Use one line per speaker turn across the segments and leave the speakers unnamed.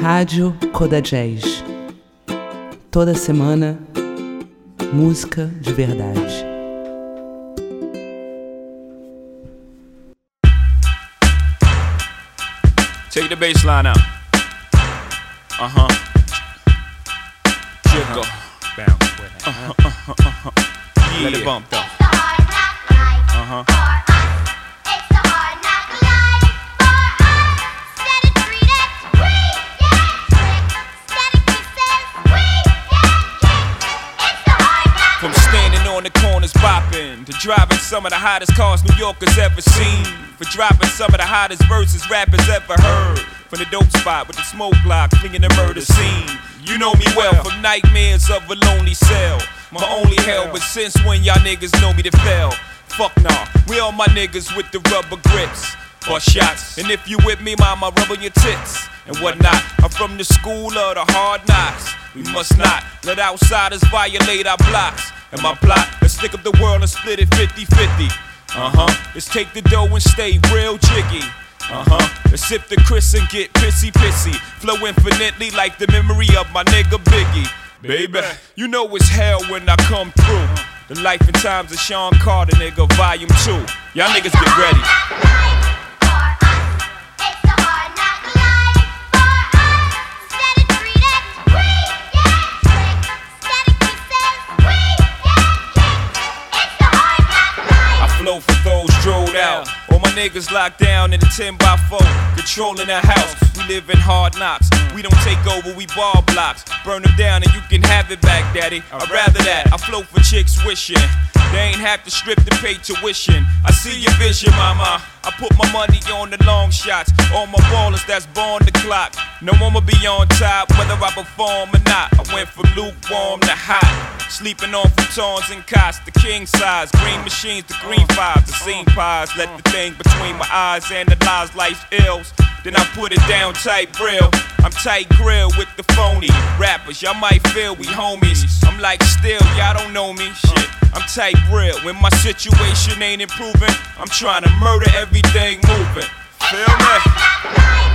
Rádio Coda Jazz. Toda semana, música de verdade.
Take the bass line out. Jiggle. Bounce with it. Yeah. Let it bump though. From standing on the corners bopping to driving some of the hottest cars New Yorkers ever seen, for dropping some of the hottest verses rappers ever heard, from the dope spot with the smoke block flinging the murder scene. You know me well from nightmares of a lonely cell, my only hell, but since when y'all niggas know me to fail? Fuck nah, we all my niggas with the rubber grips or shots, and if you with me, mama, rub on your tits and whatnot. I'm from the school of the hard knocks. We must not let outsiders violate our blocks. And my plot, let's stick up the world and split it 50-50. Let's take the dough and stay real jiggy. Let's sip the Chris and get pissy. Flow infinitely like the memory of my nigga Biggie. Baby, you know it's hell when I come through. The life and times of Sean Carter, nigga, volume 2. Y'all niggas get ready. Flow for those drilled out. All my niggas locked down in the 10x4, controlling the house. We live in hard knocks. We don't take over, we ball blocks. Burn them down and you can have it back, daddy. I'd rather that. I flow for chicks wishing they ain't have to strip to pay tuition. I see your vision, mama. I put my money on the long shots. All my ballers that's born the clock. No one will be on top, whether I perform or not. I went from lukewarm to hot. Sleeping on futons and cots, the king size. Green machines, the green fives, the scene pies. Let the thing between my eyes analyze life's ills. Then I put it down tight real. I'm tight grill with the phony rappers. Y'all might feel we homies. I'm like still, y'all don't know me. Shit, I'm tight real. When my situation ain't improving, I'm trying to murder everything moving. Feel me?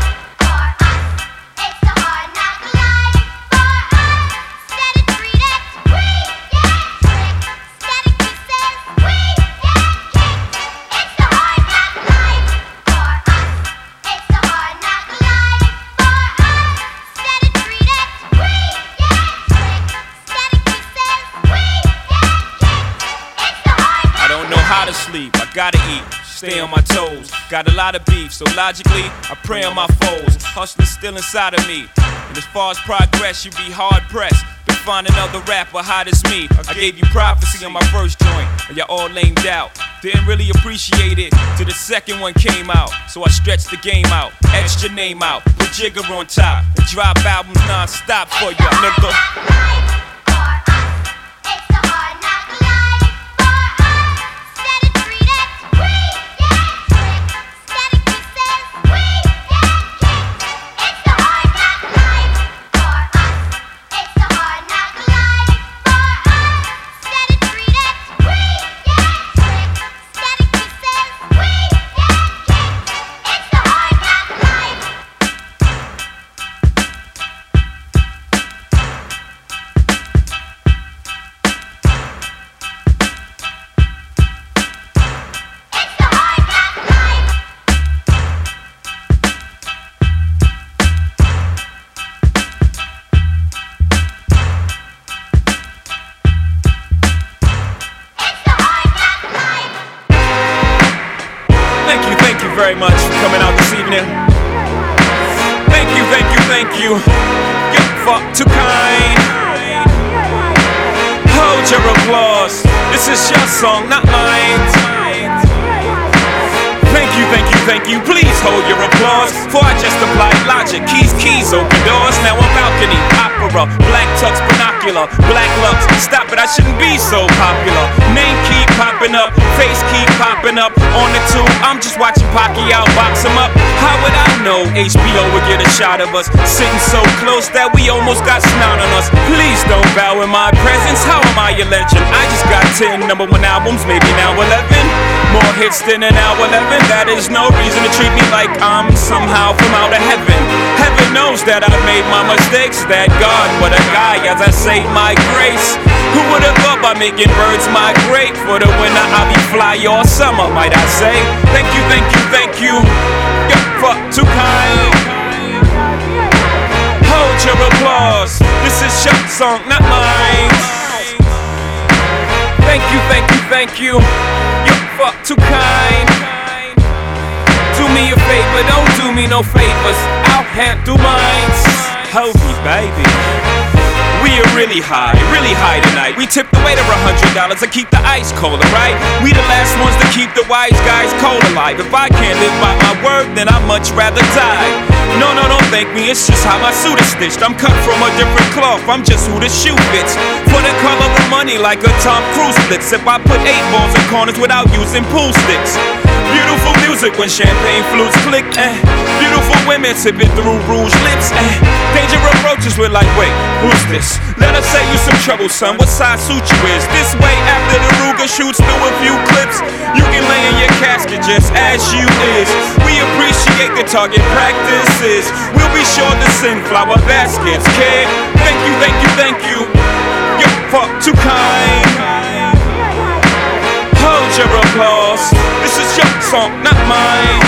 To sleep, I gotta eat, stay on my toes. Got a lot of beef, so logically, I prey on my foes. Hustling still inside of me, and as far as progress, you be hard pressed to find another rapper hot as me. I gave you prophecy on my first joint, and y'all all lamed out. Didn't really appreciate it till the second one came out. So I stretched the game out, etched your name out, put Jigger on top, and drop albums non-stop for ya, nigga. Very much for coming out this evening. Thank you. You're fuck too kind. Hold your applause. This is your song, not mine. Thank you. Please hold your applause. For I just applied logic. Keys, open doors. Now a balcony, opera, black tux, binocular, black lux. Stop it, I shouldn't be so popular. Name keep popping up, face keep popping up. On the tube, I'm just watching Pacquiao box him up. How would I know HBO would get a shot of us? Sitting so close that we almost got snot on us. Please don't bow in my presence. How am I a legend? I just got 10 #1 albums, maybe now 11. More hits than an hour 11. That is no reason to treat me like I'm somehow from out of heaven. Heaven knows that I made my mistakes. That God, what a guy, as I say my grace. Who would have thought by making birds migrate? For the winter I'll be fly all summer, might I say. Thank you, thank you, thank you. You're fuck too kind. Hold your applause. This is your song, not mine. Thank you, thank you, thank you. You're fuck too kind. Do me a favor, don't do me no favors. I'll handle mine. Hold me, baby. We are really high tonight. We tipped the waiter $100 to keep the ice colder, right? We the last ones to keep the wise guys cold alive. If I can't live by my word, then I'd much rather die. No, don't thank me, it's just how my suit is stitched. I'm cut from a different cloth, I'm just who the shoe fits. For the color of money like a Tom Cruise flicks. If I put 8 balls in corners without using pool sticks. Beautiful music when champagne flutes click, beautiful women sipping through rouge lips, danger approaches, we're like, wait, who's this? Let us say you some trouble, son, what size suit you is? This way after the Ruger shoots through a few clips, you can lay in your casket just as you is. We appreciate the target practices. We'll be sure to send flower baskets, kid. Thank you, thank you, thank you. You're fuck too kind. Hold your applause. This is your song, not mine.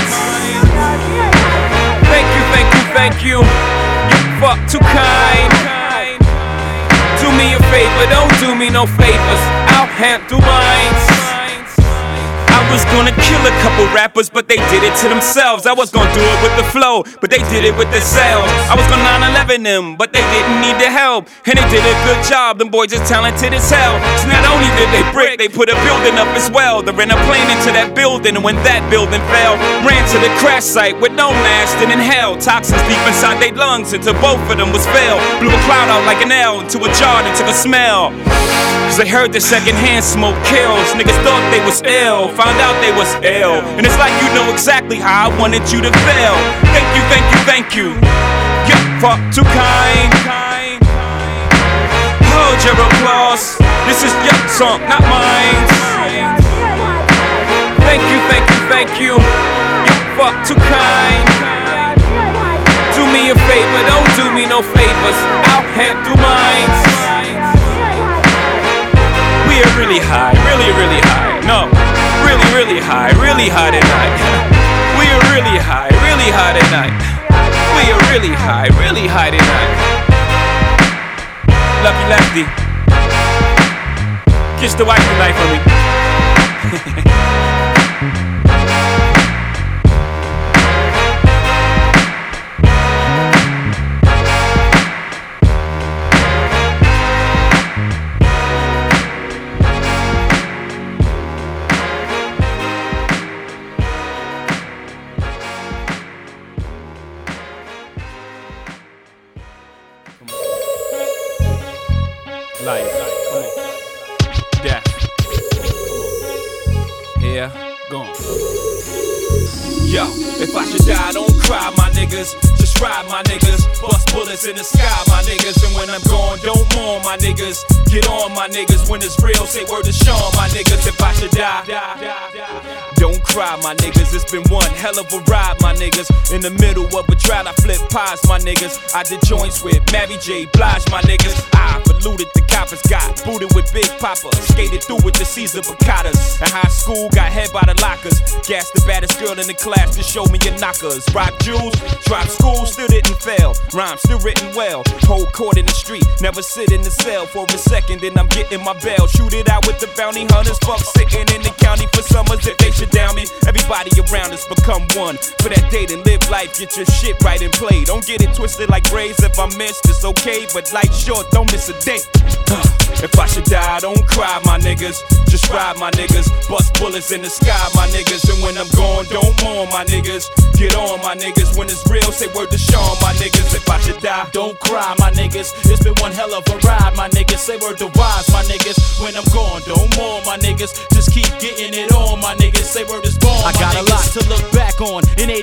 Thank you, thank you, thank you. You're fuck too kind. Do me a favor, don't do me no favors. I'll handle mine. I was gonna kill a couple rappers, but they did it to themselves. I was gonna do it with the flow, but they did it with themselves. I was gonna 9/11 them, but they didn't need the help. And they did a good job, them boys is talented as hell. So not only did they brick, they put a building up as well. They ran a plane into that building, and when that building fell, ran to the crash site with no mask and inhaled toxins deep inside their lungs until both of them was failed. Blew a cloud out like an L into a jar and took a smell. Cause they heard the secondhand smoke kills. Niggas thought they was ill, found out they was ill. And it's like you know exactly how I wanted you to feel. Thank you, thank you, thank you. You're fuck too kind. Hold your applause. This is your song, not mine. Thank you, thank you, thank you. You're fuck too kind. Do me a favor, don't do me no favors. I'll handle mine. We are really high, really high. No, really high tonight. We are really high tonight. We are really high tonight. Lucky Lefty, kiss the wife tonight for me. Life, come on. Death, here, gone. Yo, if I should die, don't cry, my niggas. Just ride, my niggas. Bust bullets in the sky, my niggas. And when I'm gone, don't mourn, my niggas. Get on, my niggas. When it's real, say word to Sean, my niggas. If I should die, don't cry, my niggas. It's been one hell of a ride, my niggas. In the middle of a trial, I flip pies, my niggas. I did joints with Mary J. Blige, my niggas. I eluded the coppers, got booted with Big Papa. Skated through with the Caesar Picadas. In high school, got head by the lockers. Gassed the baddest girl in the class to show me your knockers. Rock jewels, dropped school, still didn't fail. Rhymes still written well. Hold court in the street, never sit in the cell for a second, then I'm getting my bail. Shoot it out with the bounty hunters. Fuck sitting in the county for summers if they should down me. Everybody around us become one. For that day, then live life, get your shit right and play. Don't get it twisted like braids. If I missed, it's okay, but life's short, don't miss a day. If I should die, don't cry, my niggas. Just ride, my niggas. Bust bullets in the sky, my niggas. And when I'm gone, don't mourn, my niggas. Get on, my niggas. When it's real, say word to Sean, my niggas. If I should die,
don't cry, my niggas. It's been one hell of a ride, my niggas. Say word to Wise, my niggas. When I'm gone, don't mourn, my niggas. Just keep getting it on, my niggas. Say word is born, I got niggas. A lot to look back on. In '88,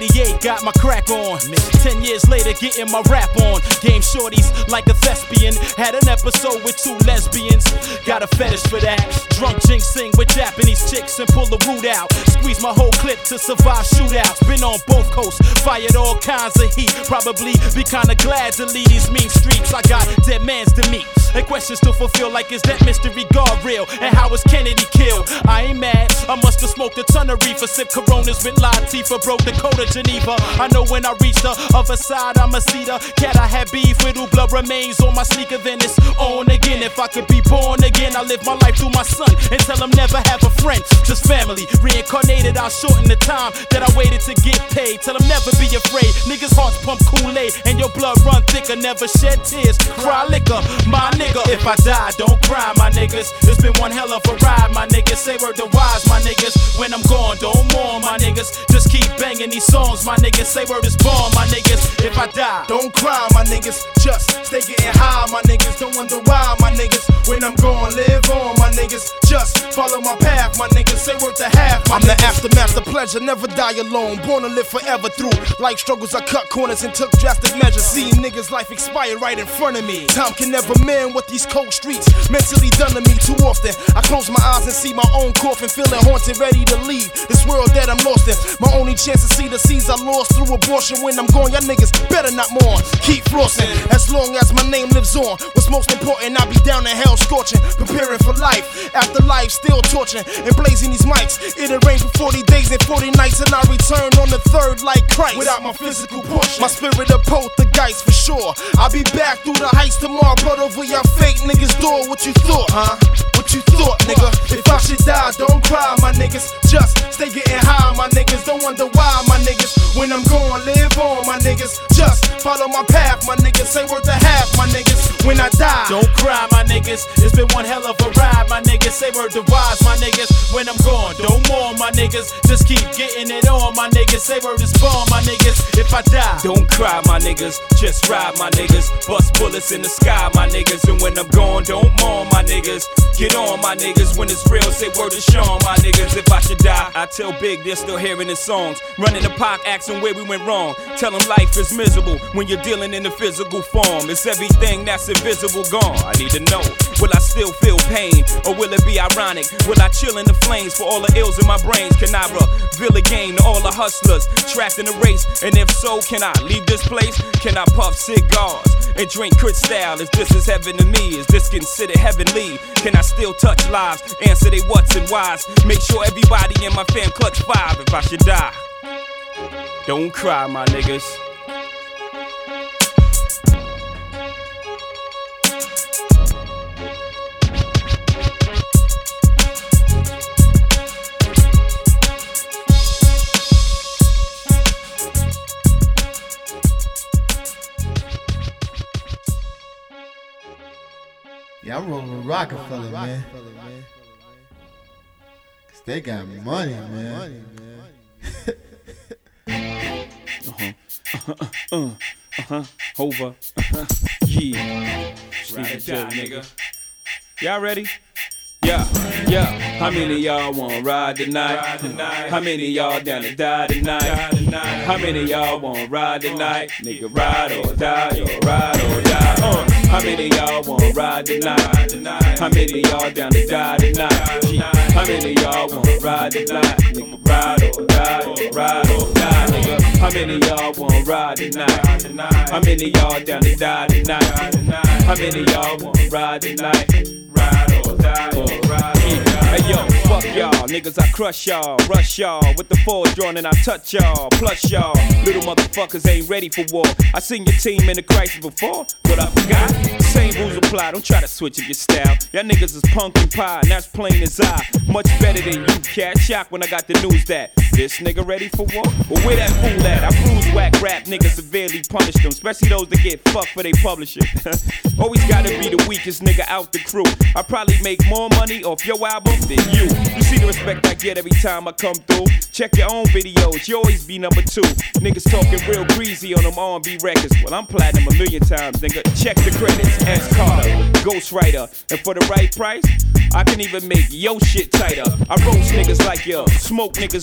got my crack on. 10 years later, getting my rap on. Game shorties like a thespian. Had an episode with 2 lesbians. Got a fetish for that. Drunk jinxing with Japanese chicks and pull the root out. Squeeze my whole clip to survive shootouts. Been on both coasts, fired all kinds of heat. Probably be kinda glad to leave these mean streets. I got dead mans to meet and questions to fulfill, like is that mystery guard real? And how was Kennedy killed? I ain't mad, I must have smoked a ton of reefer. Sip Coronas with Latifah, broke the code of Geneva. I know when I reach the other side, I'ma see the cat I had beef with who blood remains on my sneaker. Then it's on again. If I could be born again, I live my life through my son and tell him never have a friend, just family. Reincarnated, I'll shorten the time that I waited to get paid. Tell him never be afraid. Niggas' hearts pump Kool-Aid and your blood run thicker. Never shed tears, cry liquor, my nigga. If I die, don't cry, my niggas. It's been one hell of a ride, my niggas. Say word to wise, my niggas. When I'm gone, don't mourn, my niggas. Just keep banging these songs, my niggas. Say word is born, my niggas. If I die,
don't cry, my niggas. Just stay getting high, my niggas. Don't wonder why, my niggas. When I'm gone, live on, my niggas. Just follow my path, my niggas. Say word to half, my niggas. I'm the aftermath, the pleasure, never die alone. Born to live forever through life struggles. I cut corners and took drastic measures. Seeing niggas' life expire right in front of me. Time can never mend what these cold streets mentally done to me too often. I close my eyes and see my own coffin, feeling haunted, ready to leave this world that I'm lost in. My only chance to see the seeds I lost through abortion. When I'm gone, y'all niggas better not mourn. Keep flossing, as long as my name lives on. What's most important, I'll be down in hell scorching, preparing for life. After life, still torching and blazing these mics. It'll rain for 40 days and 40 nights, and I return on the third like Christ. Without my physical portion, my spirit of poltergeist for sure. I'll be back through the heights tomorrow, blood over your fake niggas' door. What you thought, huh? What you thought, nigga? If I should die, don't cry, my niggas. Just stay getting high, my niggas. Don't wonder why, my niggas. When I'm gone, live on, my niggas. Just follow my path, my niggas. Say word to half, my niggas. When I die,
don't cry, my niggas. It's been one hell of a ride, my niggas. Say word to wise, my niggas. When I'm gone, don't mourn, my niggas. Just keep getting it on, my niggas. Say word is born, my niggas. If I die,
don't cry, my niggas. Just ride, my niggas. Bust bullets in the sky, my niggas. And when I'm gone, don't mourn, my niggas. Get on, my niggas. When it's real, say word to Sean, my niggas. If I should die, I tell Big they're still hearing his songs. Running the park, asking where we went wrong. Tell him life is miserable when you're dealing in the physical form. It's everything that's invisible gone. I need to know, will I still feel pain? Or will it be ironic? Will I chill in the flames for all the ills in my brains? Can I reveal again to all the hustlers trapped in the race? And if so, can I leave this place? Can I puff cigars and drink Cristal? Is this is heaven to me? Is this considered heavenly? Can I still touch lives? Answer they what's and whys. Make sure everybody in my fam clutch 5 if I should die. Don't cry, my niggas.
Yeah, I'm rolling with Rockefeller, man. Cause they got money, man.
Over. Yeah. Steve Joe, nigga. Y'all ready? Yeah. How many of y'all wanna ride tonight? How many of y'all down to die tonight? How many of y'all wanna ride tonight? Nigga, ride or die, yo, ride or die. How many of y'all wanna ride tonight? How many of y'all down to die tonight? How many of y'all wanna ride tonight? Nigga, ride or die, yo, ride or die, nigga. How many of y'all wanna ride tonight? How many of y'all down to die tonight? How many of y'all wanna ride tonight? Ride or die, or ride or die. Hey yo, fuck y'all, niggas, I crush y'all, rush y'all with the force drawn and I touch y'all. Plus y'all, little motherfuckers ain't ready for war. I seen your team in the crisis before, but I forgot. Same rules apply, don't try to switch up your style. Y'all niggas is punk and pie, and that's plain as I. Much better than you, cat. Shocked when I got the news that this nigga ready for war. Well, where that fool at? I bruise whack rap niggas, severely punish them, especially those that get fucked for they publishing. Always gotta be the weakest nigga out the crew. I probably make more money off your album than you. You see the respect I get every time I come through. Check your own videos, you always be number 2. Niggas talking real greasy on them R&B records. Well, I'm platinum 1,000,000 times, nigga. Check the credits. S. Carter, Ghostwriter, and for the right price, I can even make yo shit tighter. I roast niggas like you, smoke niggas like you,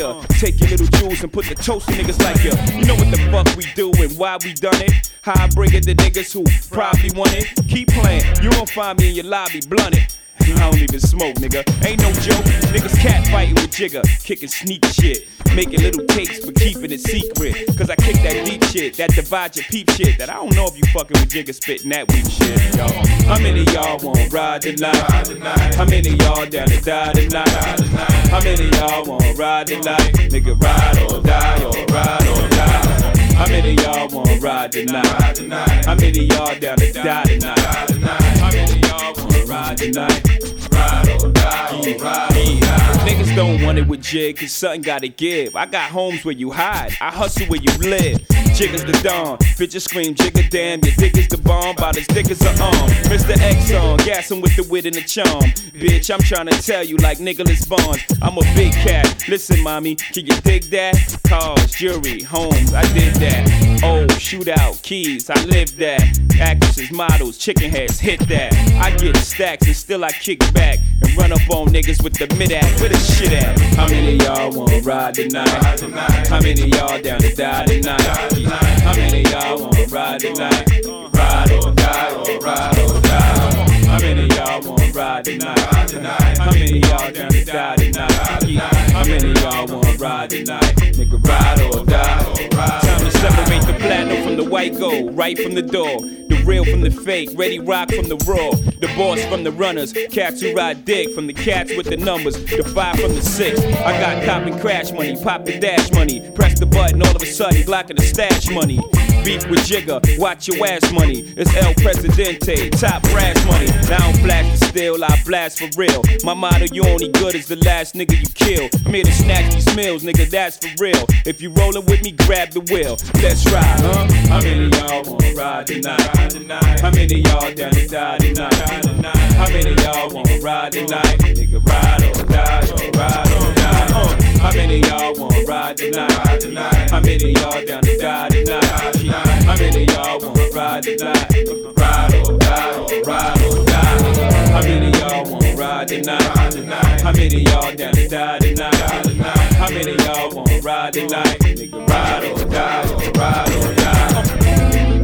ya. Take your little jewels and put the toast to niggas like ya. You know what the fuck we do and why we done it. How I bring it to niggas who probably want it. Keep playing, you won't find me in your lobby blunted. I don't even smoke, nigga. Ain't no joke. Niggas cat fighting with Jigga, kicking sneak shit. Making little tapes but keeping it secret. Cause I kick that deep shit, that divide your peep shit. That I don't know if you fucking with Jigga spitting that weak shit, yo. How many of y'all wanna ride tonight? How many of y'all down to die tonight? How many of y'all wanna ride tonight? Nigga, ride or die or ride or die. How many of y'all wanna ride tonight? How many of y'all down to die tonight? How many of y'all wanna ride tonight? Ride or die or ride or die. Niggas don't want it with Jig, cause something gotta give. I got homes where you hide, I hustle where you live. Jigga's the dawn, bitches scream Jigga damn, your dick is the bomb, about as thick as an arm. Mr. X on, gas him with the wit and the charm. Bitch, I'm tryna tell you like Nicholas Bonds, I'm a big cat. Listen, mommy, can you dig that? Cars, jewelry, homes, I did that. Oh, shootout, keys, I lived that. Actresses, models, chicken heads, hit that. I get stacks and still I kick back and run up on niggas with the mid-act. Where the shit at? How many of y'all wanna ride tonight? How many of y'all down to die tonight? How many of y'all wanna ride tonight? Ride or die or ride or die. How many of y'all wanna ride tonight? How many of y'all down to die tonight? How many of y'all wanna ride tonight? Nigga, ride or die or ride. Time to separate the platinum from the white gold, right from the door. The real from the fake, ready rock from the raw. The boss from the runners, cats who ride dick. From the cats with the numbers, the 5 from the 6. I got cop and crash money, pop the dash money. Press the button, all of a sudden, blocking the stash money. Beef with Jigga, watch your ass money. It's El Presidente, top brass money. Now I don't blast the steel, I blast for real. My motto, you only good as the last nigga you kill. I'm here to snatch these meals, nigga, that's for real. If you rollin' with me, grab the wheel. Let's ride, huh? How many of y'all wanna ride tonight? How many of y'all down to die tonight? How many of y'all wanna ride tonight? Nigga, ride or die, or ride or die. How many of y'all wanna ride tonight? How many of y'all down to die tonight? How many of y'all wanna ride tonight? Ride or die, or ride or die. How many of y'all wanna ride tonight? How many of y'all down to die tonight? How many of y'all wanna ride tonight? Nigga, ride or die, or ride or die.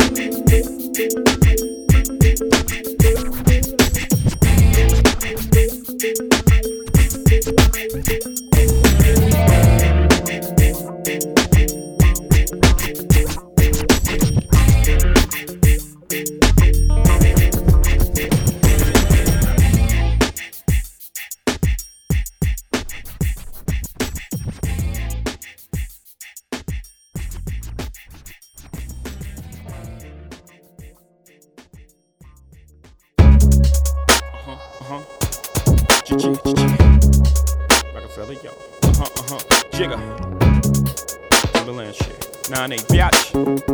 Rockefeller, yo. Jigga. Timberland shit. 9-8, biatch.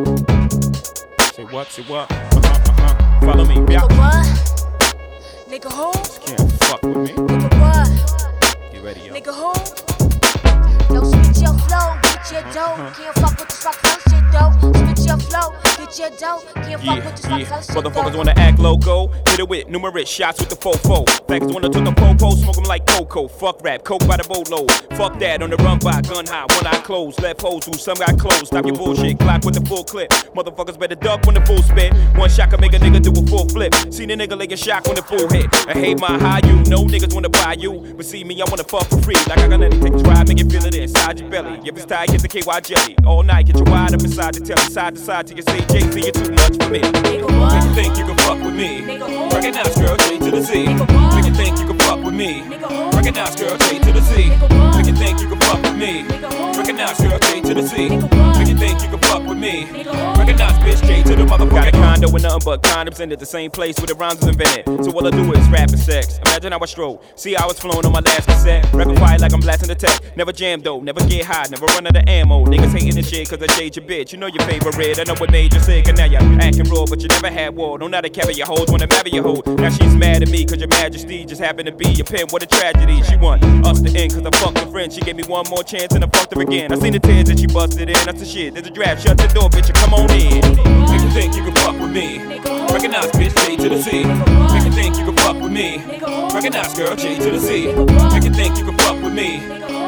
Say what, say what? Follow me, biatch.
Nigga what? Nigga who?
Just can't fuck with me.
Nigga what?
Get ready, yo.
Nigga who? Don't switch your flow, get your dough. Can't fuck with this rock shit though. Switch your flow, get your dough. Can't fuck with this rock shit though.
Motherfuckers wanna act loco. Hit it with numerous shots with the fofo. Facts wanna took a popo, smoke them like cocoa. Fuck rap, coke by the boatload. Fuck that, on the run by gun high, one eye closed. Left hoes who some got closed. Stop your bullshit, clock with the full clip. Motherfuckers better duck when the full spit. One shot can make a nigga do a full flip. Seen a nigga like a shock when the full hit. I hate my high you, no niggas wanna buy you. But see me, I wanna fuck for free. Like I got nothing, take a drive, make it feel it inside your belly. If it's tight, get the KY jelly. All night, get you wide up inside the telly. Side to side till you say Jay-Z, you're too much for me.
Nigga what?
Make you think you can fuck with me.
Nigga who?
Recognize girl, J to the Z.
Nigga what?
Make you think you can fuck with me.
Nigga who?
Recognize girl, J to the Z.
Nigga what?
Make you think you can fuck with me.
Nigga who?
Recognize girl, J to the Z.
Nigga what?
Make you think you can fuck with me.
Nigga who?
Recognize bitch, J to the motherfucker. Got a condo with nothing but condoms in it, the same place where the rhymes was invented. So all I do is rap and sex. Imagine how I stroll. See how it's flowing on my last cassette. Rapping quiet like I'm blasting the tech. Never jam though, never get high, never run out of ammo. Niggas hating this shit cause I shade your bitch. You know your favorite, I know what made you sick. And now you're acting raw, but you never had war. Don't know how to carry your hoes, wanna marry your hoe. Now she's mad at me cause your majesty just happened to be your pen. What a tragedy. She want us to end cause I fucked her friend. She gave me one more chance and I fucked her again. I seen the tears that she busted in. That's the shit. There's a draft. Shut the door, bitch, and come on in. Make you think you can fuck with me. Recognize bitch, J to the Z. Make you think you can fuck with me. Recognize girl, J to the Z. Make you think you can fuck with me.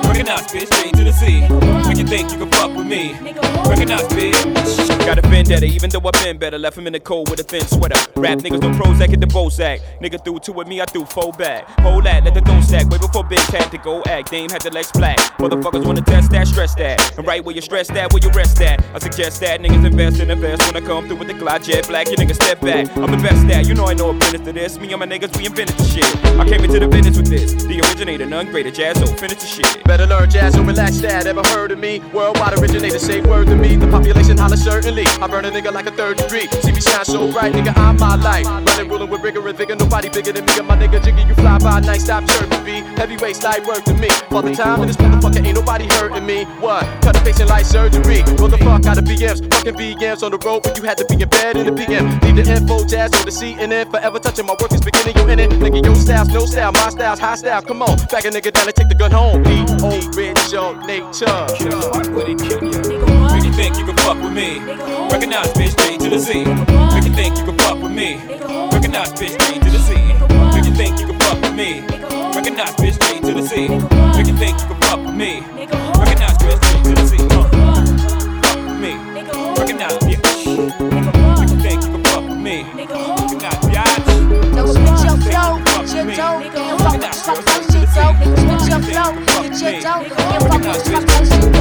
Recognize, bitch, straight to the sea. Make you think you can fuck with me. Recognize, bitch. Got a vendetta, even though I've been better. Left him in the cold with a thin sweater. Rap niggas don't Prozac, hit the Bozak. Nigga threw two with me, I threw four back. Hold that, let the dough stack. Way before Big had to go act. Dame had the legs flat. Motherfuckers wanna test that, stress that. And right where you stress that, where you rest at. I suggest that niggas invest in invest. When I come through with the Glide Jet Black, you niggas step back. I'm the best at, you know I know a business to this. Me and my niggas, we invented the shit. I came into the business with this. The originator, none greater, Jazzo, finish the shit.
Better learn Jazzo, relax that. Ever heard of me? Worldwide originator, say word to me. The population holler certainly. I burn a nigga like a third degree. See me shine so bright, nigga, I'm my light. Running, ruling with rigor and vigor. Nobody bigger than me. And my nigga Jiggy, you fly by night, stop chirping me. Heavyweight light work to me. For the time in this motherfucker, ain't nobody hurting me. What? Cut a patient like surgery. Roll the fuck out of BMs. Fucking VMs on the road, but you had to be in bed in the PM. Leave the info, Jazz on the CNN. Forever touching my work is beginning, you in it. Nigga, your style's no style, my style's high style. Come on, back a nigga down and take the gun home. Original nature.
Fuck with it, kill ya. Make you think you can fuck with me. Recognize, bitch, straight to the sea. Make you think you can fuck with me. Recognize, bitch, straight to the sea. Make you think you can fuck with me. Recognize, bitch, straight to the sea. Make you think you can fuck with me. Recognize, bitch, straight to the sea. Fuck with me. Recognize, bitch. Make you think you can fuck with me. Recognize, bitch.
Don't switch your flow, get your dough. Can't fuck with the fuck that shit though. Switch your flow, get your dough. Can't fuck with the fuck that shit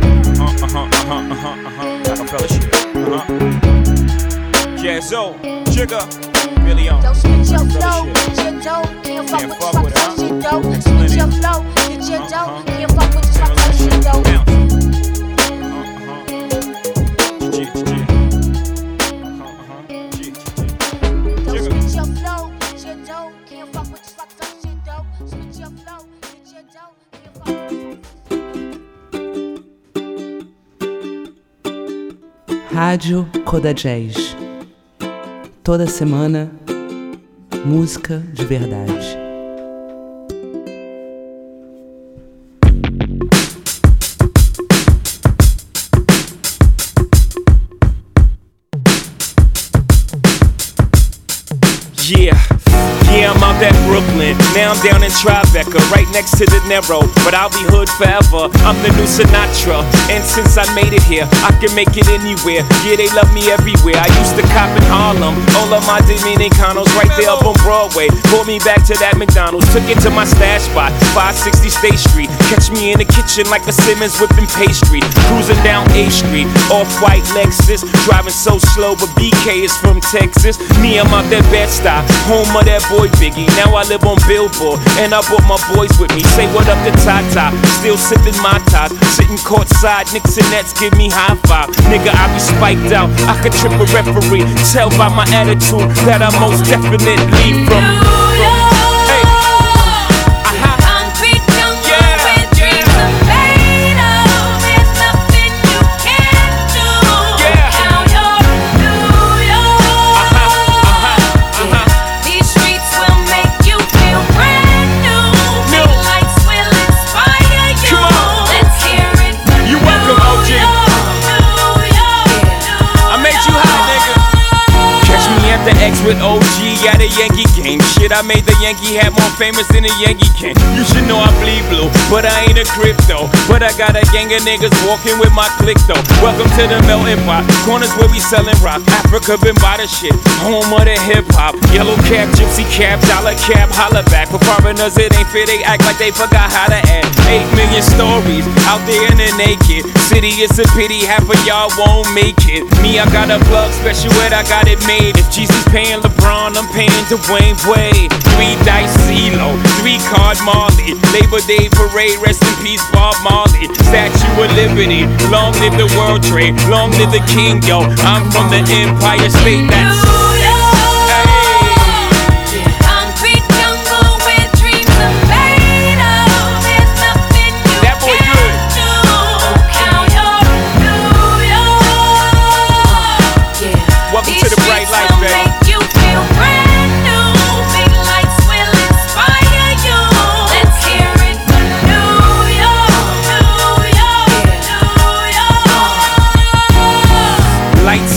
though.
Rockefeller shit. Jazzo, Jigga, Billy on.
Don't switch your flow, get your dough. Can't fuck with the fuck that shit though. Switch your flow, get your dough. Can't fuck with the fuck that shit though. Don't switch your flow, get your dough. Can't fuck with the fuck that shit though. Switch your flow, get your dough. Can't fuck with
Rádio Coda Jazz. Toda semana, música de verdade.
Yeah, I'm out at Brooklyn. Now I'm down in Tribeca, right next to the Narrow. But I'll be hood forever. I'm the new Sinatra. And since I made it here, I can make it anywhere. Yeah, they love me everywhere. I used to cop in Harlem. All of my Dominicanos right there up on Broadway. Pulled me back to that McDonald's. Took it to my stash spot, 560 State Street. Catch me in the kitchen like a Simmons whipping pastry. Cruising down A Street, off-white Lexus. Driving so slow, but BK is from Texas. Me, I'm out that Bed-Stuy, home of that boy Biggie. Now I live on Billboard, and I brought my boys with me. Say what up to Tata, still sipping my ties. Sitting courtside, Knicks and Nets give me high five. Nigga, I be spiked out, I could trip a referee. Tell by my attitude that I most definitely from with OG at a Yankee game. Shit, I made the Yankee hat more famous than a Yankee can. You should know I bleed blue, but I ain't a crypto. But I got a gang of niggas walking with my click though. Welcome to the melting pot, corners where we selling rock. Africa been by the shit, home of the hip hop. Yellow cap, gypsy cap, dollar cap, holla back. For foreigners it ain't fair, they act like they forgot how to act. 8 million stories out there in the naked city. It's a pity half of y'all won't make it. Me, I got a plug special ed, I got it made. If Jesus paying LeBron, I'm paying Dwayne Wade. 3 dice CeeLo, 3 card Marley. Labor Day parade, rest in peace Bob Marley. Statue of Liberty, long live the World Trade, long live the King, yo. I'm from the Empire State, that's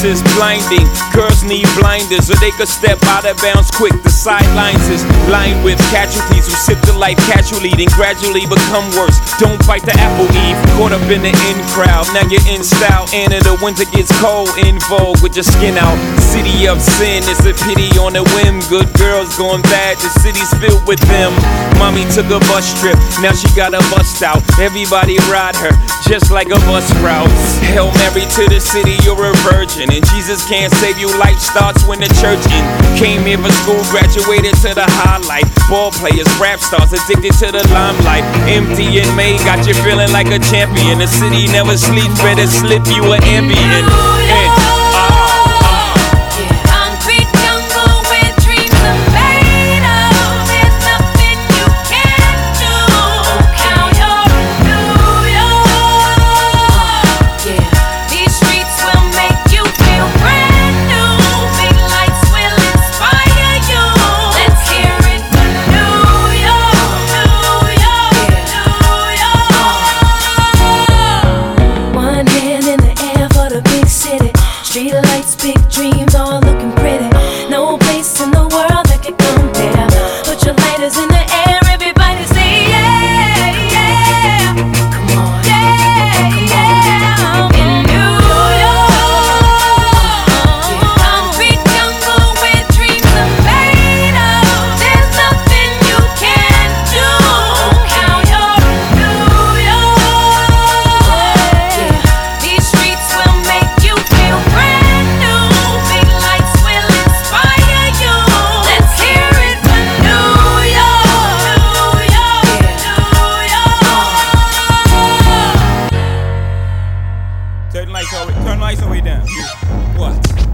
is blinding. Girls need blinders so they could step out of bounds quick. The sidelines is lined with casualties who sip the life casually, then gradually become worse. Don't bite the apple, Eve. Caught up in the in crowd, now you're in style. And in the winter gets cold, in vogue with your skin out. City of sin, it's a pity on a whim. Good girls going bad, the city's filled with them. Mommy took a bus trip, now she got a bust out. Everybody ride her, just like a bus route. Hail Mary to the city, you're a virgin. And Jesus can't save you, life starts when the church in. Came here for school, graduated to the highlight. Ball players, rap stars, addicted to the limelight. Empty in May, got you feeling like a champion. The city never sleeps, better slip you an ambient. Turn lights all the way down. What?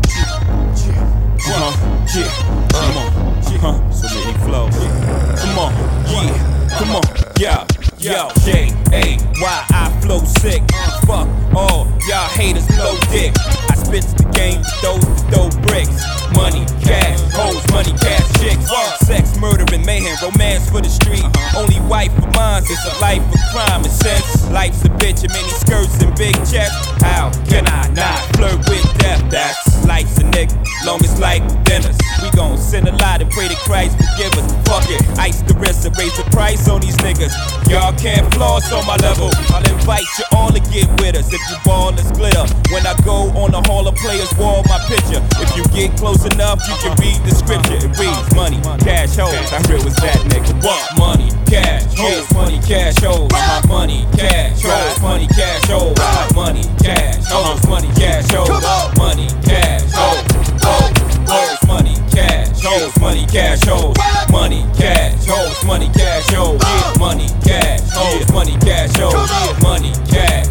Come on. So many flows. Come on. Come on. Yo, J-A-Y, I flow sick. Fuck all y'all haters, blow dick. I spit the game, throw bricks. Money, cash, hoes, money, cash, chicks. Sex, murder, and mayhem, romance for the street. Only wife of mine, it's a life of crime and sense. Life's a bitch and many skirts and big chests. How can I not flirt with death? That's life's a nigga, long as life dinners. We gon' sin a lot and pray to Christ forgive us. Fuck it, ice the wrist and raise the price on these niggas. Y'all can't floss on my level. I'll invite you all to get with us. If you ball, let's glitter. When I go on the Hall of Players wall, my picture. If you get close enough, you can read the scripture. It reads money, cash, hoes. How real was that, nigga? What? Money, cash, hoes, money, cash, hoes. Money, cash, hoes, money, cash, hoes. Money, cash, hoes, money, cash, hoes. Money, cash, hoes, hoes, money, cash, hoes, money, cash, hoes. Money, cash, hoes, money, cash, hoes. Money, cash, hoes, money, cash, hoes. Money, cash,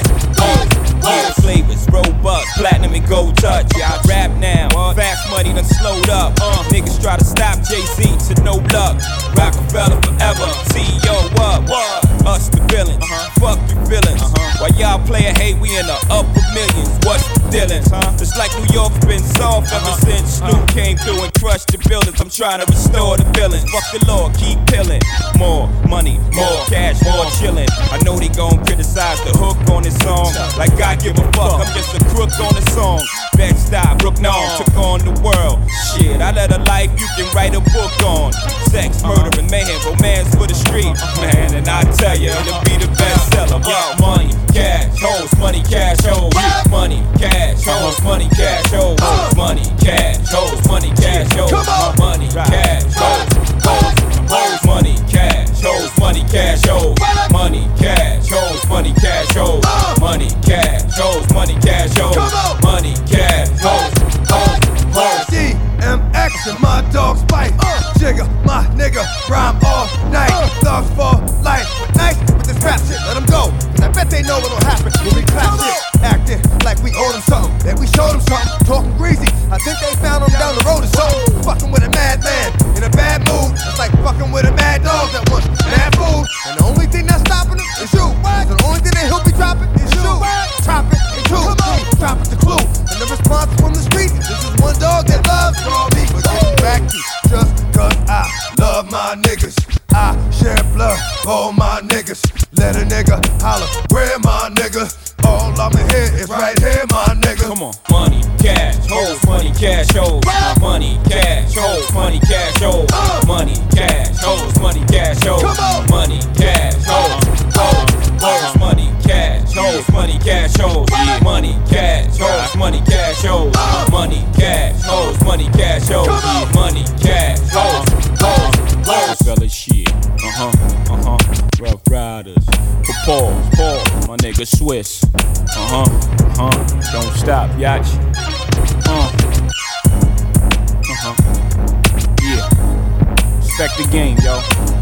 hoes, flavors, robust, platinum and gold touch. Yeah, I rap now, fast money done slowed up. Niggas try to stop Jay-Z to no luck. Rockefeller forever, CEO up. Us the villains, fuck your feelings. While y'all playin' hate, we in the upper millions. What's the dealings? Just like New York's been soft ever since Snoop came through and crushed the buildings. I'm trying to restore the feelings. Fuck the law, keep pillin'. More money, more cash, more chillin'. I know they gon' criticize the hook on this song. Like I give a fuck, I'm just a crook on the song. Bed-Stuy, Brook-Norm, took on the world. Shit, I led a life you can write a book on. Sex, murder, and mayhem, romance for the street. Man, and I tell you, it'll be the bestseller. Money, cash, hoes, money, cash, hoes. Money, cash, hoes, money, cash, hoes. Money, cash, hoes, money, cash, hoes. Money, cash, hoes, money, cash, hoes, money, cash, hoes. Money, cash, hoes, money, cash, hoes. Money, cash, hoes, money, cash, hoes. Money, cash, hoes.
DMX and my dogs bite. Jigga, my nigga, rhyme all night. Thugs for life, but nice with this rap shit. Let them go, cause I bet they know what'll happen when we clap shit. Acting like we owe them something, that we showed them something. Talking greasy, I think they found them down the road or something. Fucking with a madman in a bad mood. It's like fucking with a mad dog that wants bad food. And the only thing that's stopping him is you. So the only thing that he'll be dropping is you. Chop it and two, drop it the clue. And the response from the street, this is one dog that loves raw meat. But getting back to just cause I love my niggas. I share blood, all my niggas. Let a nigga holler, where my nigga? All I'ma hear is right here, my nigga.
Come on, money, cash, hoes, money, cash, hoes, money, cash, hoes, money, cash, hoes, money, cash, hoes, money, cash, hoes, money, cash, hoes, money, cash, hoes, money, cash, hoes, money, cash, hoes, money, cash, hoes, money, cash, hoes, money, cash, hoes, money, cash, hoes, fella shit, Rough Riders, pause, my nigga Swiss, don't stop, yacht, yeah, respect the game, yo.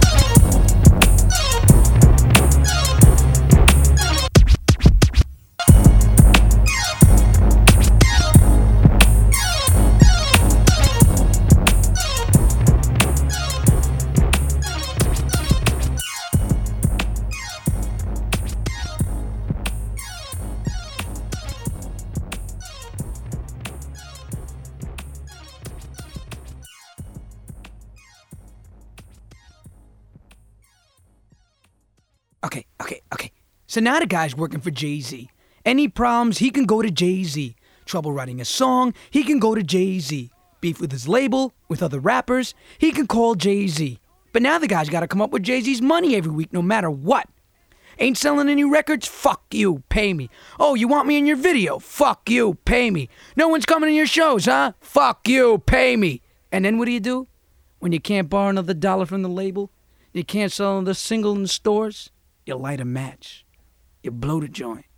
Okay. So now the guy's working for Jay-Z. Any problems, he can go to Jay-Z. Trouble writing a song, he can go to Jay-Z. Beef with his label, with other rappers, he can call Jay-Z. But now the guy's got to come up with Jay-Z's money every week, no matter what. Ain't selling any records? Fuck you, pay me. Oh, you want me in your video? Fuck you, pay me. No one's coming to your shows, huh? Fuck you, pay me. And then what do? When you can't borrow another dollar from the label, you can't sell another single in the stores, you light a match. You blow the joint.